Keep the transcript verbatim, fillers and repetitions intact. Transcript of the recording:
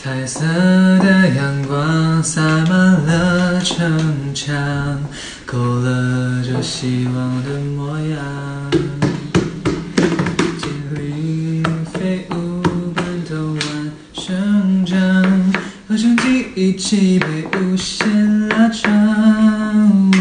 彩色的阳光洒满了城墙，勾勒着希望的模样。精灵飞舞，半头弯生长，合成记忆一起被无限拉长。